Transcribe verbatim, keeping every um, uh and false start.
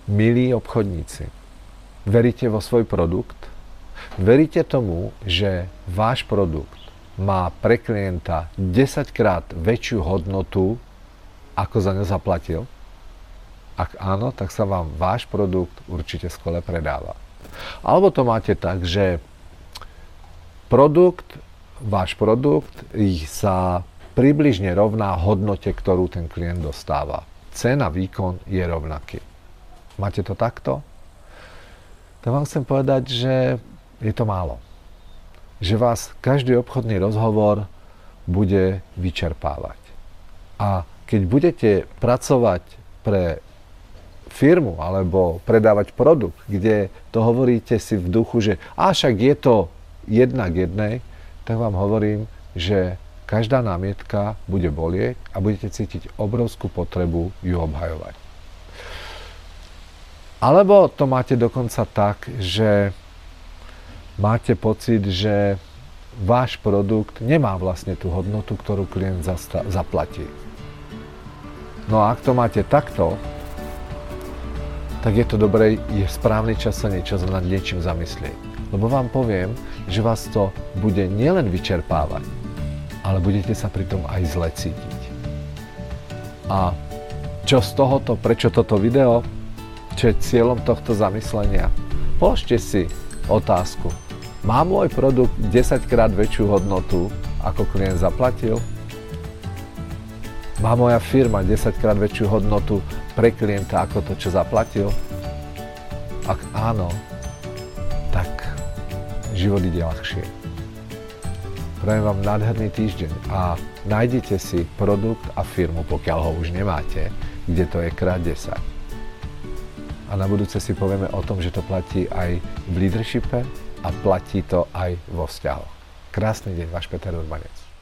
Milí obchodníci, veríte vo svoj produkt? Veríte tomu, že váš produkt má pre klienta desaťkrát väčšiu hodnotu, ako za ňo zaplatil? Ak áno, tak sa vám váš produkt určite skvele predáva. Alebo to máte tak, že produkt, váš produkt sa približne rovná hodnote, ktorú ten klient dostáva. Cena, výkon je rovnaký. Máte to takto? Tak vám chcem povedať, že je to málo. Že vás každý obchodný rozhovor bude vyčerpávať. A keď budete pracovať pre firmu alebo predávať produkt, kde to hovoríte si v duchu, že a však je to jedna k jednej, tak vám hovorím, že každá námietka bude bolieť a budete cítiť obrovskú potrebu ju obhajovať. Alebo to máte dokonca tak, že máte pocit, že váš produkt nemá vlastne tú hodnotu, ktorú klient zasta- zaplatí. No a ak to máte takto, tak je to dobré, je správny čas sa niečo nad niečím zamyslieť. Lebo vám poviem, že vás to bude nielen vyčerpávať, ale budete sa pri tom aj zle cítiť. A čo z tohoto, prečo toto video? Čo je cieľom tohto zamyslenia? Položte si otázku. Má môj produkt desaťkrát väčšiu hodnotu, ako klient zaplatil? Má moja firma desaťkrát väčšiu hodnotu pre klienta, ako to, čo zaplatil? Ak áno, tak život ide ľahšie. Prajem vám nádherný týždeň a nájdete si produkt a firmu, pokiaľ ho už nemáte, kde to je krát desať. A na budúce si povieme o tom, že to platí aj v leadershipe a platí to aj vo vzťahoch. Krásny deň, váš Peter Urbanec.